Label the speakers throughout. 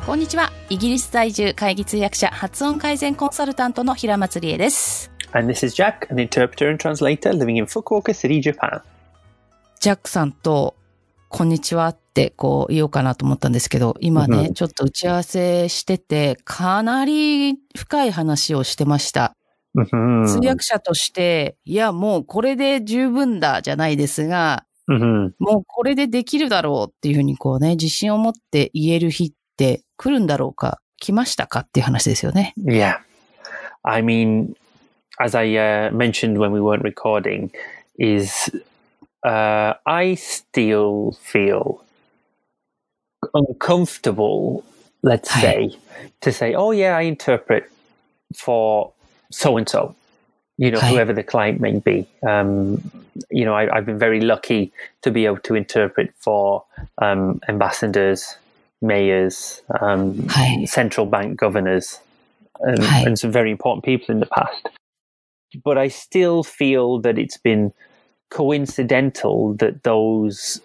Speaker 1: こんにちは。イギリス在住会議通訳者発音改善コンサルタントの平松理恵です。
Speaker 2: And this is Jack, an interpreter and translator living in Fukuoka City, Japan.
Speaker 1: ジャックさんとこんにちはってこう言おうかなと思ったんですけど、今ね、ちょっと打ち合わせしててかなり深い話をしてました。通訳者として、いやもうこれで十分だじゃないですが、もうこれでできるだろうっていうふうにこうね、自信を持って言える日って来るんだろうか、来ましたかっていう話ですよね。
Speaker 2: Yeah. I mean, as I mentioned when we weren't recording, is I still feel uncomfortable, let's say, to say, oh yeah, I interpret for so-and-so, whoever the client may be. I've been very lucky to be able to interpret for ambassadors, mayors, central bank governors, and some very important people in the past. But I still feel that it's been coincidental that those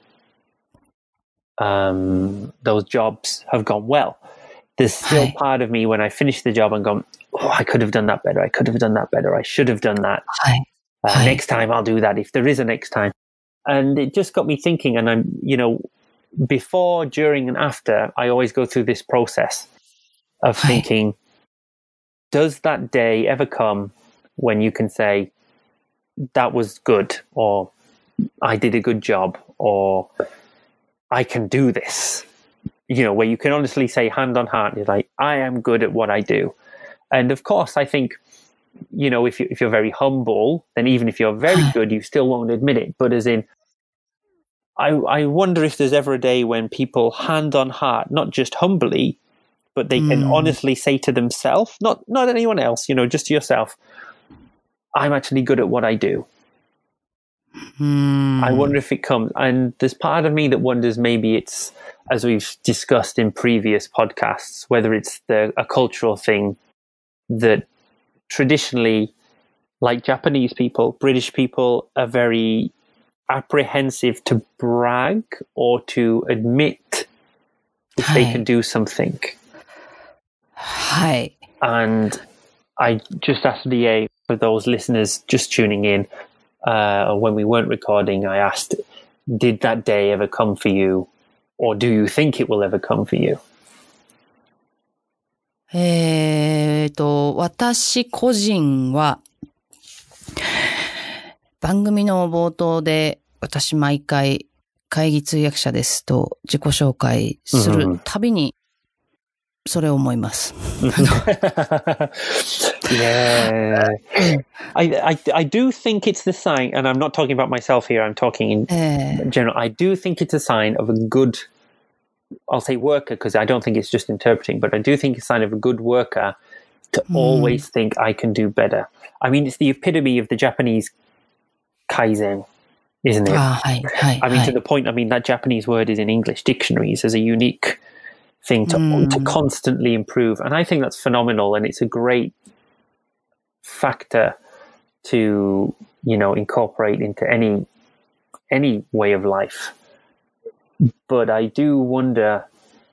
Speaker 2: jobs have gone well. There's still part of me when I finish the job and go, oh, I could have done that better. I could have done that better. I should have done that. Next time I'll do that if there is a next time. And it just got me thinking, and I'm, before, during, and after, I always go through this process of thinking, does that day ever come when you can say, that was good, or I did a good job, or I can do this, where you can honestly say hand on heart, you're like, I am good at what I do. And of course, I think, if you're very humble, then even if you're very good, you still won't admit it. But as in, I wonder if there's ever a day when people hand on heart, not just humbly, but they can honestly say to themselves, not anyone else, just to yourself, I'm actually good at what I do. I wonder if it comes, and there's part of me that wonders maybe it's, as we've discussed in previous podcasts, whether it's a cultural thing that traditionally, like Japanese people, British people are very apprehensive to brag or to admit if they can do something. And I just asked Lie, for those listeners just tuning in, when we weren't recording, I asked, did that day ever come for you? Or do you think it will ever come for you?
Speaker 1: 私個人は、番組の冒頭で、私毎回会議通訳者ですと自己紹介するたびに、それを思います。
Speaker 2: Yeah. I do think it's the sign, and I'm not talking about myself here, I'm talking in general. I do think it's a sign of a good, I'll say worker, because I don't think it's just interpreting, but I do think it's a sign of a good worker to always think I can do better. I mean, it's the epitome of the Japanese kaizen, isn't it? I mean, to the point, that Japanese word is in English dictionaries as a unique thing to constantly improve. And I think that's phenomenal, and it's a great factor to, incorporate into any way of life. But I do wonder,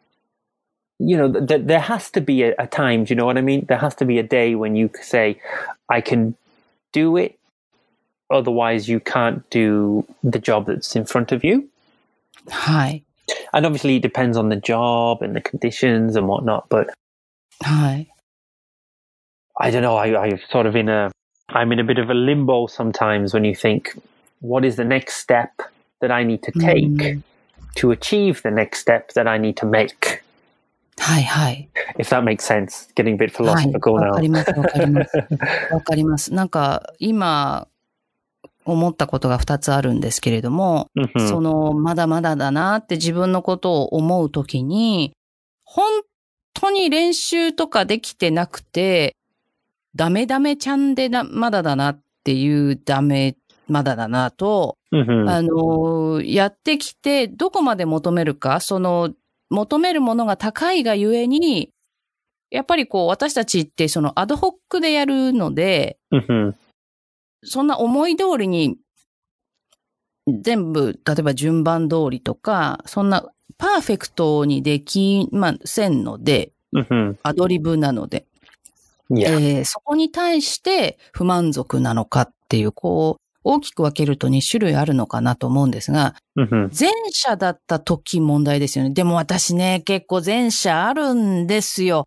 Speaker 2: there has to be a time, do you know what I mean? There has to be a day when you say, I can do it, otherwise you can't do the job that's in front of you. And obviously it depends on the job and the conditions and whatnot, but I don't know, I'm in a bit of a limbo sometimes when you think, what is the next step that I need to take to achieve the next step that I need to make? If that makes sense. Getting a bit philosophical now.
Speaker 1: わかります。なんか今思ったことが2つあるんですけれども、まだまだだなって自分のことを思うときに、本当に練習とかできてなくて、ダメちゃんでまだだなっていうまだだなと、やってきてどこまで求めるか、求めるものが高いがゆえに、やっぱり私たちってアドホックでやるので、そんな思い通りに全部、例えば順番通りとか、そんなパーフェクトにできませんので、アドリブなので、そこに対して不満足なのかっていう、こう、大きく分けると2種類あるのかなと思うんですが、前者だった時問題ですよね。でも私ね、結構前者あるんですよ。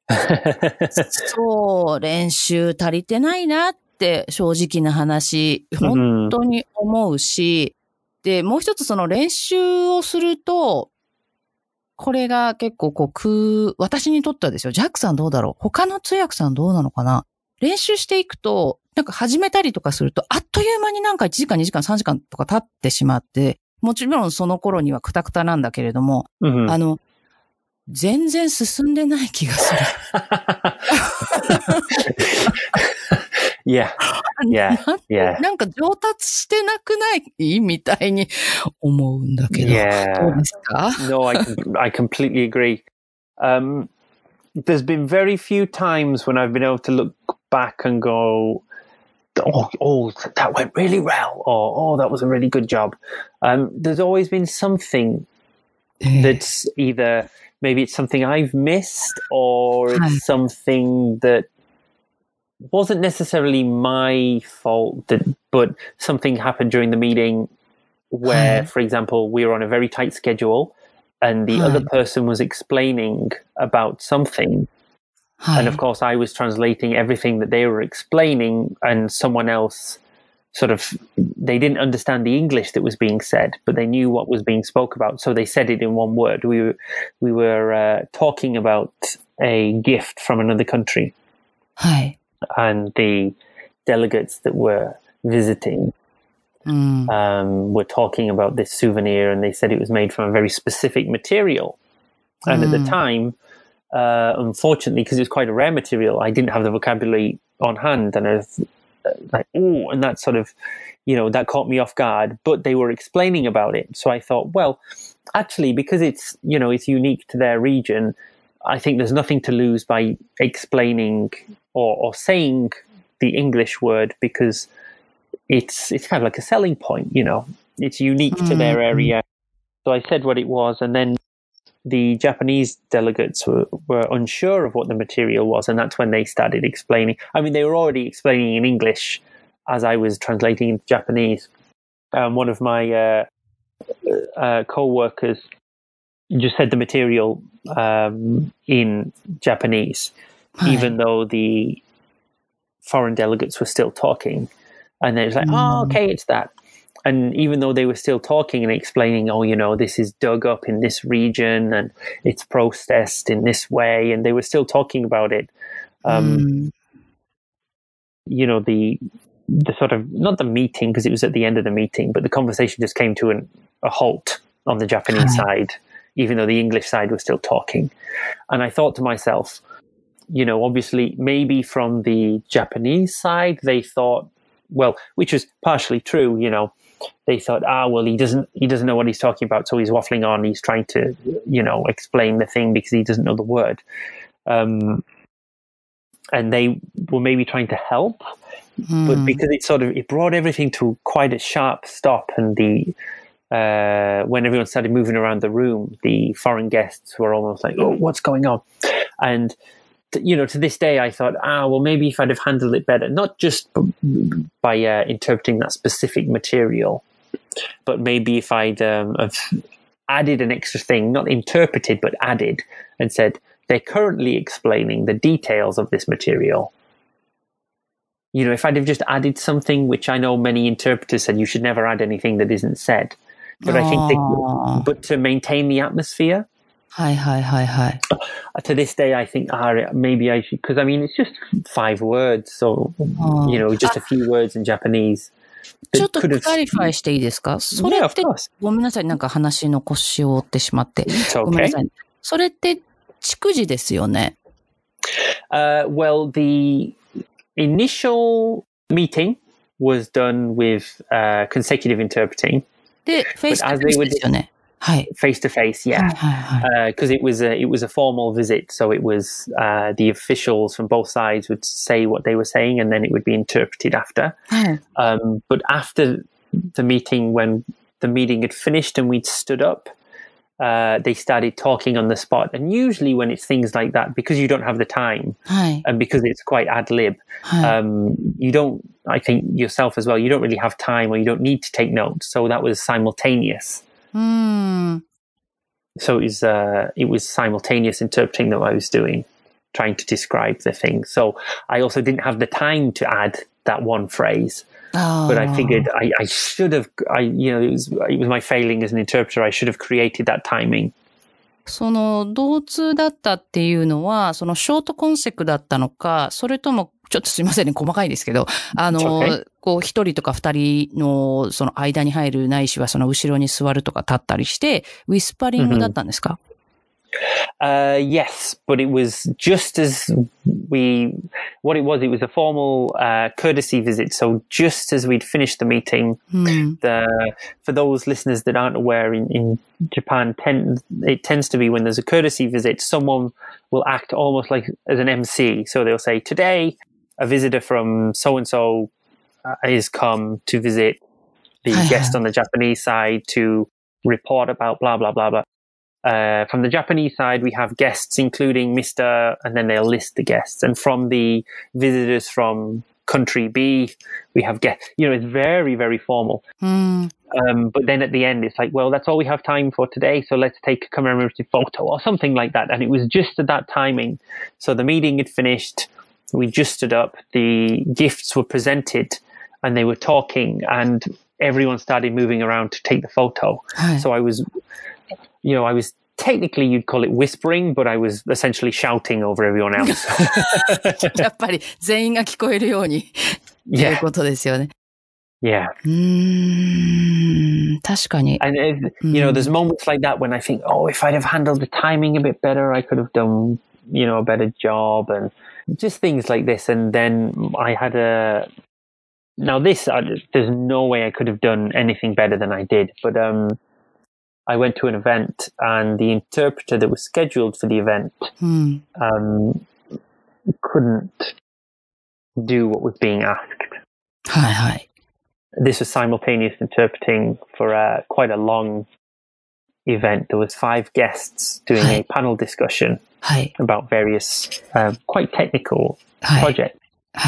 Speaker 1: そう、練習足りてないなって正直な話、本当に思うし、で、もう一つその練習をすると、これが結構私にとってはですよ、ジャックさんどうだろう？他の通訳さんどうなのかな？練習していくと、なんか始めたりとかすると、あっという間になんか1時間、2時間、3時間とか経ってしまって、もちろんその頃にはクタクタなんだけれども、全然進んでない気がする。なんか上達してなくないみたいに思うんだけど。どうですか？
Speaker 2: No, I completely agree. There's been very few times when I've been able to look back and go, oh, that went really well, or oh, that was a really good job. There's always been something that's either maybe it's something I've missed, or it's something that wasn't necessarily my fault, but something happened during the meeting where, for example, we were on a very tight schedule and the other person was explaining about something. And of course, I was translating everything that they were explaining, and someone else they didn't understand the English that was being said, but they knew what was being spoke about. So they said it in one word. We were talking about a gift from another country. And the delegates that were visiting were talking about this souvenir, and they said it was made from a very specific material. And at the time, unfortunately, because it's quite a rare material, I didn't have the vocabulary on hand, and I was like, oh, and that sort of, that caught me off guard. But they were explaining about it, so I thought, well, actually, because it's it's unique to their region, I think there's nothing to lose by explaining or saying the English word, because it's kind of like a selling point, it's unique to their area. So I said what it was, and then the Japanese delegates were unsure of what the material was, and that's when they started explaining. I mean, they were already explaining in English as I was translating into Japanese. One of my co-workers just said the material in Japanese, even though the foreign delegates were still talking. And it was like, oh, okay, it's that. And even though they were still talking and explaining, this is dug up in this region and it's processed in this way, and they were still talking about it, the sort of, not the meeting, because it was at the end of the meeting, but the conversation just came to a halt on the Japanese side, even though the English side was still talking. And I thought to myself, obviously, maybe from the Japanese side, they thought, well, which was partially true, they thought, he doesn't know what he's talking about, so he's waffling on, he's trying to, explain the thing because he doesn't know the word. And they were maybe trying to help, but because it brought everything to quite a sharp stop, and when everyone started moving around the room, the foreign guests were almost like, oh, what's going on? And to this day, I thought, maybe if I'd have handled it better, not just by interpreting that specific material, but maybe if I'd have added an extra thing, not interpreted, but added, and said, they're currently explaining the details of this material. If I'd have just added something, which I know many interpreters said you should never add anything that isn't said. But I think but to maintain the atmosphere, to this day, I think maybe I should, because I mean, it's just 5 words, so just a few words in Japanese.
Speaker 1: ちょっとクラリファイしていいですか？それって、ごめんなさい、なんか話の腰を折ってしまって。ごめんなさい。それって逐次ですよね。
Speaker 2: Well, the initial meeting was done with consecutive interpreting.
Speaker 1: で、フェイストゥフェイスですよね。
Speaker 2: Face to face, yeah, because it was a formal visit, so it was the officials from both sides would say what they were saying, and then it would be interpreted after. But after the meeting, when the meeting had finished and we'd stood up, they started talking on the spot. And usually when it's things like that, because you don't have the time, and because it's quite ad lib, you don't, I think yourself as well, you don't really have time, or you don't need to take notes. So that was simultaneous. So it was simultaneous interpreting that I was doing, trying to describe the thing. So I also didn't have the time to add that one phrase. But I figured I should have, it was my failing as an interpreter. I should have created that timing.
Speaker 1: その同通だったっていうのは、そのショートコンセクだったのか、それとも、ちょっとすいませんね、細かいですけど、こう一人とか二人のその間に入るないしはその後ろに座るとか立ったりして、ウィスパリングだったんですか？
Speaker 2: Yes, but it was just as what it was a formal courtesy visit. So just as we'd finished the meeting, for those listeners that aren't aware, in Japan, it tends to be when there's a courtesy visit, someone will act almost like as an MC. So they'll say, today, a visitor from so-and-so is come to visit the guest on the Japanese side to report about blah, blah, blah, blah. From the Japanese side, we have guests, including Mr. and then they'll list the guests. And from the visitors from country B, we have guests. It's very, very formal. But then at the end, it's like, well, that's all we have time for today. So let's take a commemorative photo or something like that. And it was just at that timing. So the meeting had finished. We just stood up. The gifts were presented and they were talking and everyone started moving around to take the photo. So I was technically you'd call it whispering, but I was essentially shouting over everyone else.
Speaker 1: やっぱり全員が聞こえるようにということですよね。
Speaker 2: Yeah.
Speaker 1: 確かに。
Speaker 2: And there's moments like that when I think, oh, if I'd have handled the timing a bit better, I could have done, a better job, and just things like this. And then I had there's no way I could have done anything better than I did, but I went to an event and the interpreter that was scheduled for the event couldn't do what was being asked. This was simultaneous interpreting for quite a long event. There was 5 guests doing a panel discussion about various quite technical projects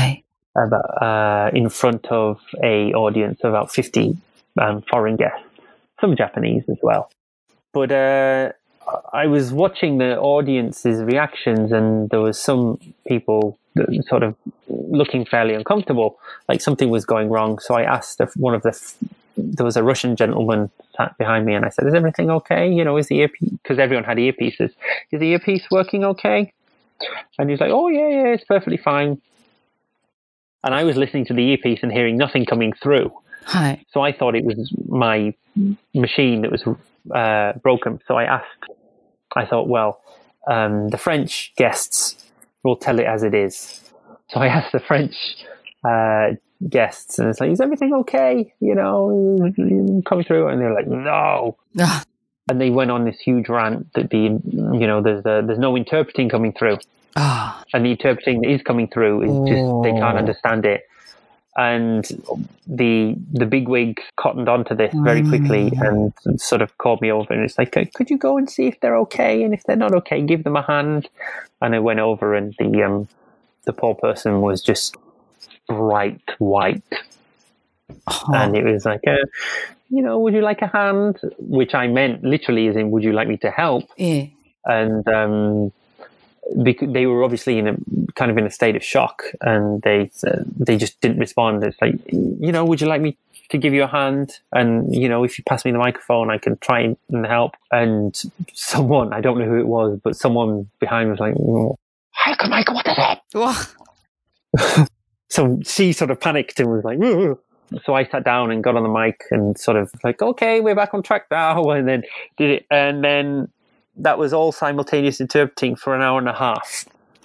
Speaker 2: in front of a audience of about 50 foreign guests. Some Japanese as well. But I was watching the audience's reactions and there was some people sort of looking fairly uncomfortable, like something was going wrong. So I asked there was a Russian gentleman sat behind me and I said, is everything okay? Is the earpiece, because everyone had earpieces, is the earpiece working okay? And he's like, oh yeah, it's perfectly fine. And I was listening to the earpiece and hearing nothing coming through. So I thought it was my machine that was broken. So I thought, well, the French guests will tell it as it is. So I asked the French guests and it's like, is everything okay? Coming through? And they're like, no. And they went on this huge rant that there's no interpreting coming through. And the interpreting that is coming through is just, they can't understand it. And the bigwig cottoned onto this very quickly and sort of called me over and it's like, could you go and see if they're okay? And if they're not okay, give them a hand. And I went over and the poor person was just bright white. And it was like, would you like a hand? Which I meant literally as in, would you like me to help?
Speaker 1: Yeah.
Speaker 2: And because they were obviously in a state of shock and they just didn't respond. It's like, would you like me to give you a hand? And, if you pass me the microphone, I can try and help. And someone, I don't know who it was, but someone behind was like, hi, Michael, what is it? So she sort of panicked and was like, whoa. So I sat down and got on the mic and sort of like, okay, we're back on track now. And then did it. And then that was all simultaneous interpreting for an hour and a half.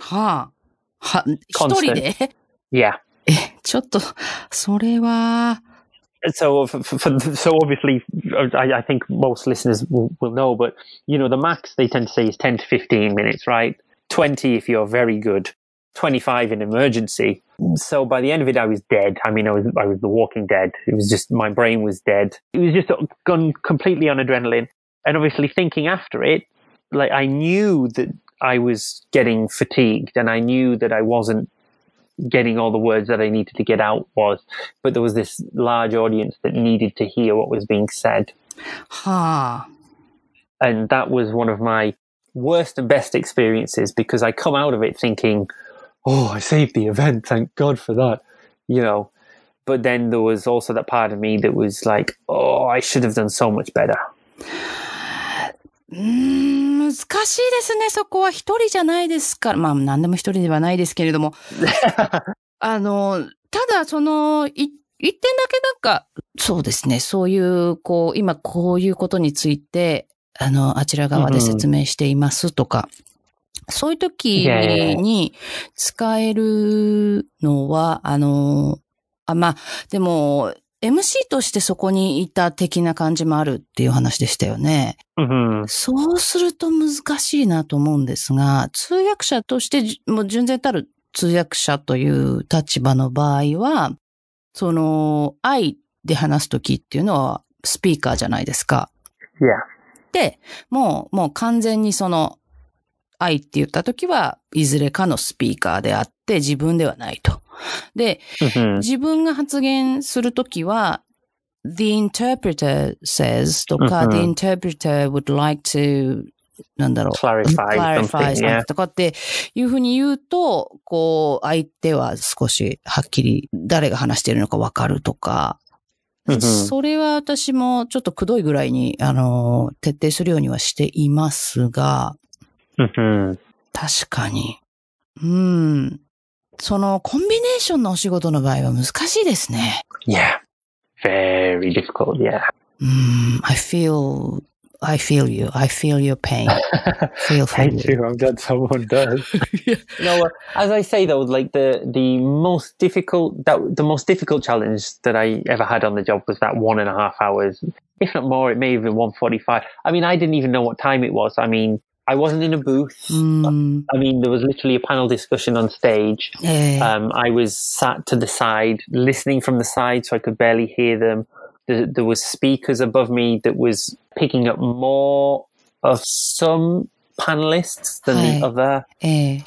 Speaker 1: 一人で?
Speaker 2: Yeah.
Speaker 1: ちょっと、それは...
Speaker 2: So obviously, I think most listeners will know, but, the max they tend to say is 10 to 15 minutes, right? 20 if you're very good, 25 in emergency. So by the end of it, I was dead. I mean, I was the walking dead. It was just, my brain was dead. It was just gone completely on adrenaline. And obviously thinking after it, like I knew that I was getting fatigued and I knew that I wasn't getting all the words that I needed to get out but there was this large audience that needed to hear what was being said. And that was one of my worst and best experiences because I come out of it thinking, oh, I saved the event. Thank God for that. But then there was also that part of me that was like, oh, I should have done so much better.
Speaker 1: 難しいですね。そこは一人じゃないですから。まあ何でも一人ではないですけれども。ただ言ってだけそうですね。そういう、今こういうことについて、あちら側で説明していますとか、そういう時に使えるのは、まあ、でも、MC としてそこにいた的な感じもあるっていう話でしたよね。そうすると難しいなと思うんですが、通訳者としてもう純然たる通訳者という立場の場合は、愛で話すときっていうのはスピーカーじゃないですか。で、もう完全に愛って言ったときはいずれかのスピーカーであって自分ではないと。で、自分が発言するときは、the interpreter says とか、the interpreter would like to clarify something とかっていうふうに言うと、相手は少しはっきり誰が話しているのかわかるとか、それは私もちょっとくどいぐらいに、徹底するようにはしていますが、確かに。そのコンビネーションのお仕事の場合は難しいですね。
Speaker 2: Yeah. Very difficult, yeah.
Speaker 1: I feel you. I feel your pain.
Speaker 2: Thank you. I'm glad someone does. As I say though, like the most difficult challenge that I ever had on the job was that 1.5 hours. If not more, it may have been 1:45. I mean, I didn't even know what time it was. I mean, I wasn't in a booth. I mean, there was literally a panel discussion on stage. I was sat to the side, listening from the side so I could barely hear them. There was speakers above me that was picking up more of some panelists than the other. It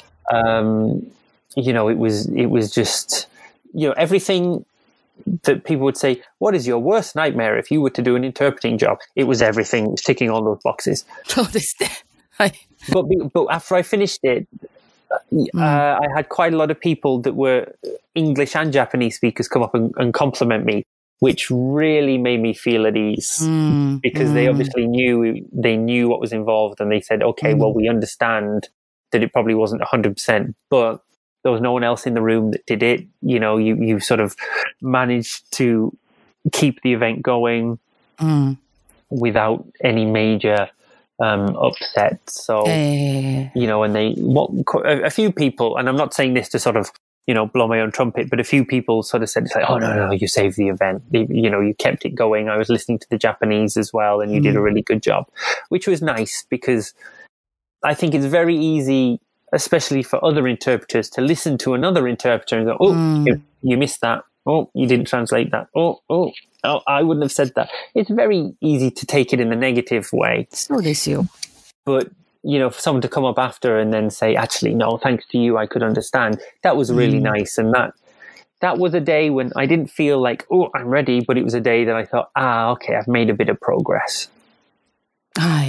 Speaker 2: was just, everything that people would say, what is your worst nightmare if you were to do an interpreting job? It was everything. It was ticking all those boxes.
Speaker 1: そうですね。
Speaker 2: But after I finished it, I had quite a lot of people that were English and Japanese speakers come up and compliment me, which really made me feel at ease because they obviously knew what was involved and they said, okay, well, we understand that it probably wasn't 100%, but there was no one else in the room that did it. You sort of managed to keep the event going without any major upset. So, and a few people, and I'm not saying this to sort of, blow my own trumpet, but a few people sort of said, it's like, oh, no, you saved the event. You kept it going. I was listening to the Japanese as well, and you did a really good job, which was nice because I think it's very easy, especially for other interpreters, to listen to another interpreter and go, oh, you missed that. Oh, you didn't translate that. Oh, I wouldn't have said that. It's very easy to take it in the negative way.
Speaker 1: そうですよ。
Speaker 2: But, for someone to come up after and then say, actually, no, thanks to you, I could understand. That was really nice. And that was a day when I didn't feel like, oh, I'm ready. But it was a day that I thought, okay, I've made a bit of progress.
Speaker 1: はい。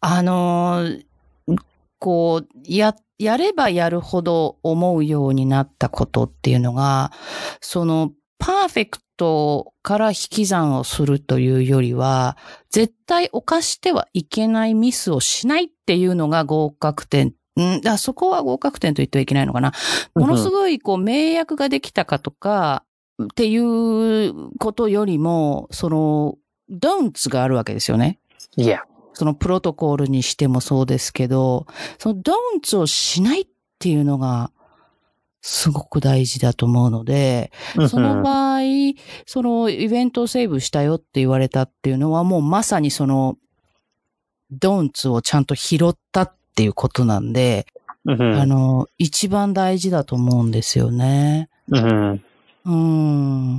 Speaker 1: やればやるほど思うようになったことっていうのが、パーフェクトから引き算をするというよりは、絶対犯してはいけないミスをしないっていうのが合格点。そこは合格点と言ってはいけないのかな。ものすごい、名訳ができたかとか、っていうことよりも、don'ts があるわけですよね。
Speaker 2: Yeah.
Speaker 1: そのプロトコルにしてもそうですけど、その don'ts をしないっていうのがすごく大事だと思うので、その場合、そのイベントをセーブしたよって言われたっていうのはもうまさにその don'ts をちゃんと拾ったっていうことなんで、一番大事だと思うんですよね。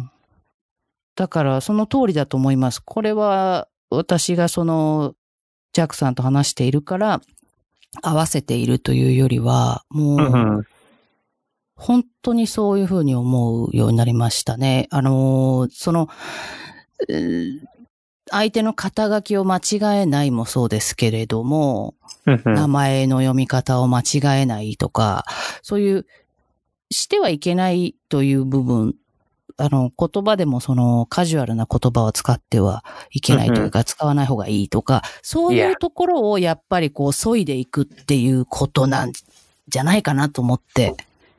Speaker 1: だからその通りだと思います。これは私がジャックさんと話しているから合わせているというよりは、もう、本当にそういうふうに思うようになりましたね。相手の肩書きを間違えないもそうですけれども、名前の読み方を間違えないとか、そういうしてはいけないという部分、言葉でもそのカジュアルな言葉を使ってはいけないというか、使わない方がいいとか、そういうところをやっぱりこう、削いでいくっていうことなんじゃないかなと思って。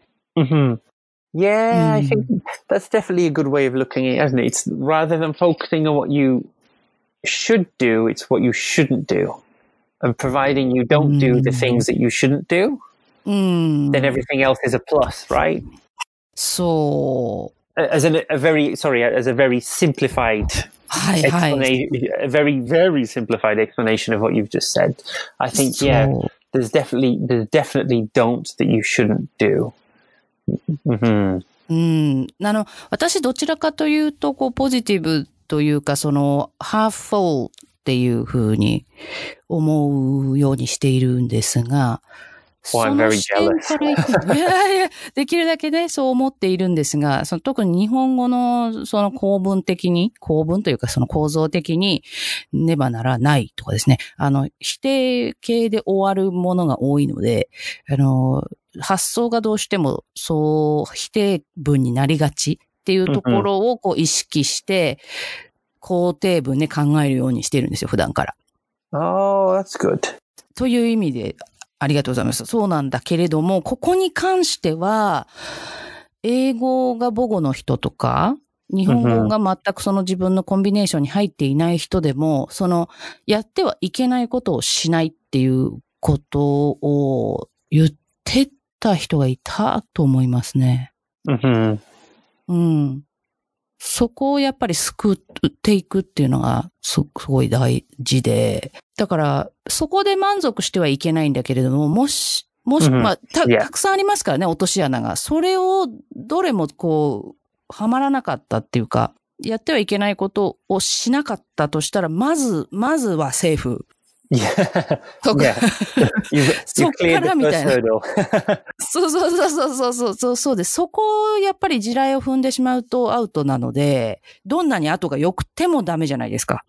Speaker 2: Yeah, I think that's definitely a good way of looking at it, isn't it? It's rather than focusing on what you should do, it's what you shouldn't do. And providing you don't do the things that you shouldn't do, then everything else is a plus, right?
Speaker 1: So,
Speaker 2: as a very simplified explanation, a very, very simplified explanation of what you've just said. I think, there's definitely don'ts that you shouldn't do.
Speaker 1: 私どちらかというと、こう、ポジティブというか、その、ハーフフォーっていうふうに思うようにしているんですが、その視点からいくと、いや、できるだけね、そう思っているんですが、特に日本語のその構文というかその構造的にねばならないとかですね、否定形で終わるものが多いので、発想がどうしてもそう否定文になりがちっていうところをこう意識して、肯定文で考えるようにしてるんですよ、普段から。
Speaker 2: Oh, that's good.
Speaker 1: という意味で、ありがとうございます。そうなんだけれども、ここに関しては、英語が母語の人とか、日本語が全くその自分のコンビネーションに入っていない人でも、やってはいけないことをしないっていうことを言ってた人がいたと思いますね。そこをやっぱり救っていくっていうのがすごい大事で、だからそこで満足してはいけないんだけれども、もし、まあ、たくさんありますからね、落とし穴が。それをどれもこう、はまらなかったっていうか、やってはいけないことをしなかったとしたら、まずはセーフ。そっからみたいな。そうです。そこをやっぱり地雷を踏んでしまうとアウトなので、どんなに後が良くてもダメじゃないですか。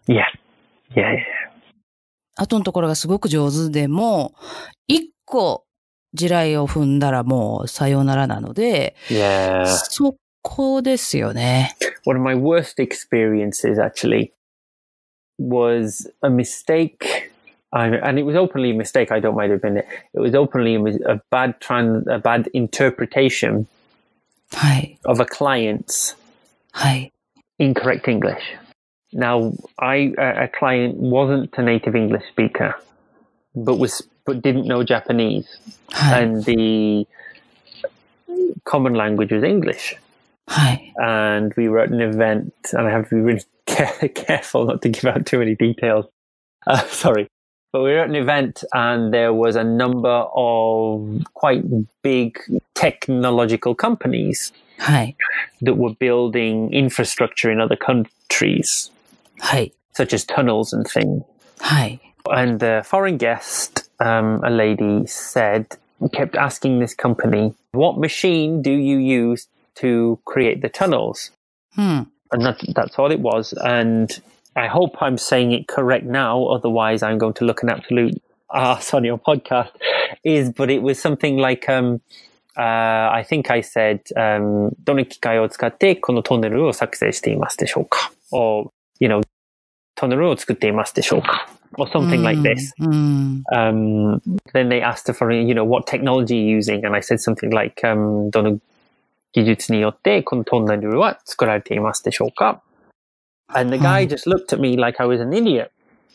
Speaker 1: 後のところがすごく上手でも、一個地雷を踏んだらもうさようならなので、そこですよね。
Speaker 2: One of my worst experiences actually was a mistake.And it was openly a mistake. I don't mind admitting it. It was openly a bad interpretation of a client's incorrect English. Now, a client wasn't a native English speaker, but didn't know Japanese, and the common language was English. And we were at an event, and I have to be really careful not to give out too many details. Sorry.But we were at an event and there was a number of quite big technological companies that were building infrastructure in other countries, such as tunnels and things. And the foreign guest, a lady, kept asking this company, what machine do you use to create the tunnels? And that's all it was. And I hope I'm saying it correct now, otherwise I'm going to look an absolute arse on your podcast, but it was something like, I think I said, どの機械を使ってこのトンネルを作成していますでしょうか? Or, トンネルを作っていますでしょうか? Or something like this. Then they asked for, what technology you're using? And I said something like, どの技術によってこのトンネルは作られていますでしょうか? And the guy just looked at me like I was an idiot.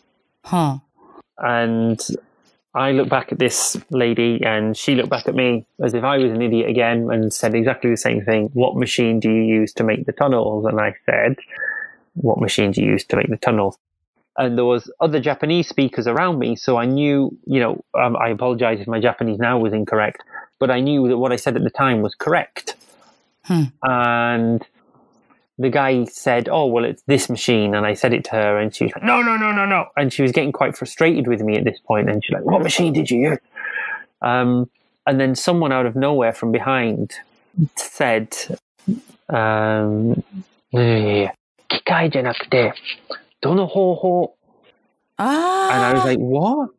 Speaker 2: And I looked back at this lady and she looked back at me as if I was an idiot again and said exactly the same thing. What machine do you use to make the tunnels? And I said, what machine do you use to make the tunnels? And there was other Japanese speakers around me. So I knew, I apologize if my Japanese now was incorrect, but I knew that what I said at the time was correct. And the guy said, oh, well, it's this machine. And I said it to her and she was like, no. And she was getting quite frustrated with me at this point. And she's like, what machine did you use? And then someone out of nowhere from behind said, 機械じゃなくて、どの方法? And I was like, what?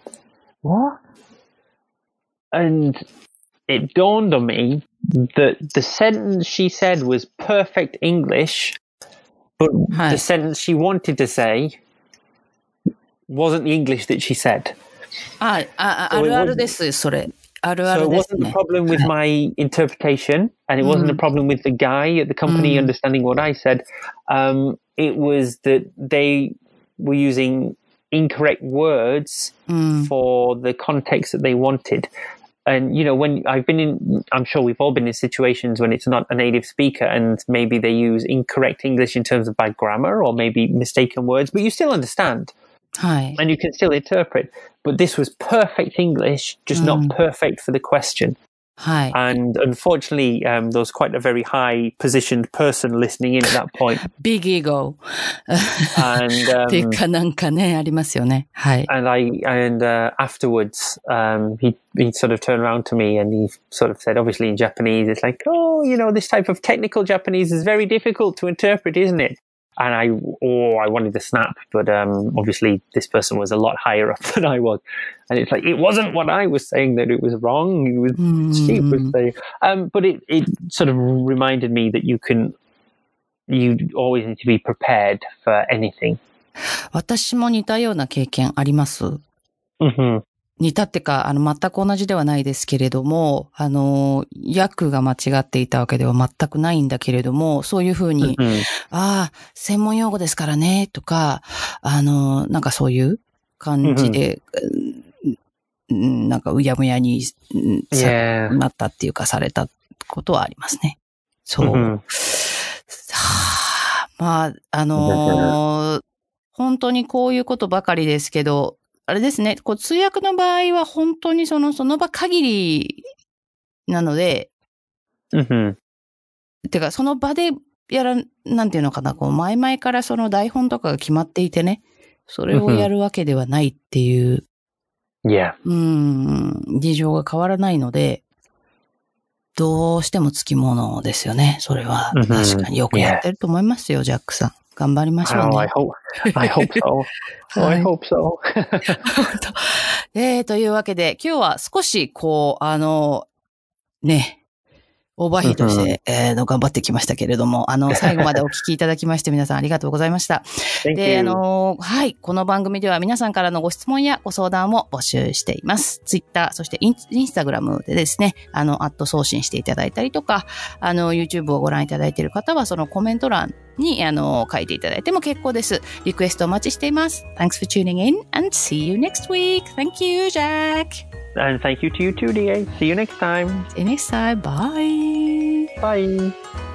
Speaker 2: And it dawned on me that the sentence she said was perfect English, but the sentence she wanted to say wasn't the English that she said.
Speaker 1: あるあるです、それ。あるあるですね。
Speaker 2: So it wasn't a problem with my interpretation, and it wasn't a problem with the guy at the company understanding what I said. It was that they were using incorrect words for the context that they wanted. And, you know, when I've been in, I'm sure we've all been in situations when it's not a native speaker and maybe they use incorrect English in terms of bad grammar or maybe mistaken words, but you still understand. And you can still interpret. But this was perfect English, just not perfect for the question. And unfortunately, there was quite a very high-positioned person listening in at that point.
Speaker 1: Big ego.
Speaker 2: And
Speaker 1: かなんかね、ありますよね。
Speaker 2: And afterwards, he sort of turned around to me and he sort of said, obviously in Japanese, it's like, oh, you know, this type of technical Japanese is very difficult to interpret, isn't it? And I wanted to snap, but obviously this person was a lot higher up than I was. And it's like, it wasn't what I was saying that it was wrong. It was she was saying. But it sort of reminded me that you always need to be prepared for anything.
Speaker 1: 私も似たような経験あります。似たってか、全く同じではないですけれども、訳が間違っていたわけでは全くないんだけれども、そういうふうに、専門用語ですからね、とか、なんかそういう感じで、なんかうやむやになったっていうかされたことはありますね。そう。まあ、本当にこういうことばかりですけど、あれですね、通訳の場合は本当にその場限りなので、てかその場でなんていうのかな、前々からその台本とかが決まっていてね、それをやるわけではないっていう、事情が変わらないので、どうしてもつきものですよね、それは。確かによくやってると思いますよ、ジャックさん。頑張りましょうね。
Speaker 2: I hope so. I hope so.
Speaker 1: というわけで、今日は少し、ね、オーバーヒートして、頑張ってきましたけれども、最後までお聞きいただきまして、皆さんありがとうございました。で、この番組では皆さんからのご質問やご相談を募集しています。ツイッター、そしてインスタグラムでですね、送信していただいたりとか、YouTube をご覧いただいている方は、そのコメント欄に、書いていただいても結構です。リクエストお待ちしています。Thanks for tuning in and see you next week. Thank you,
Speaker 2: Jack.And thank you to you too, DA. See you next time.
Speaker 1: See you next time. Bye.
Speaker 2: Bye.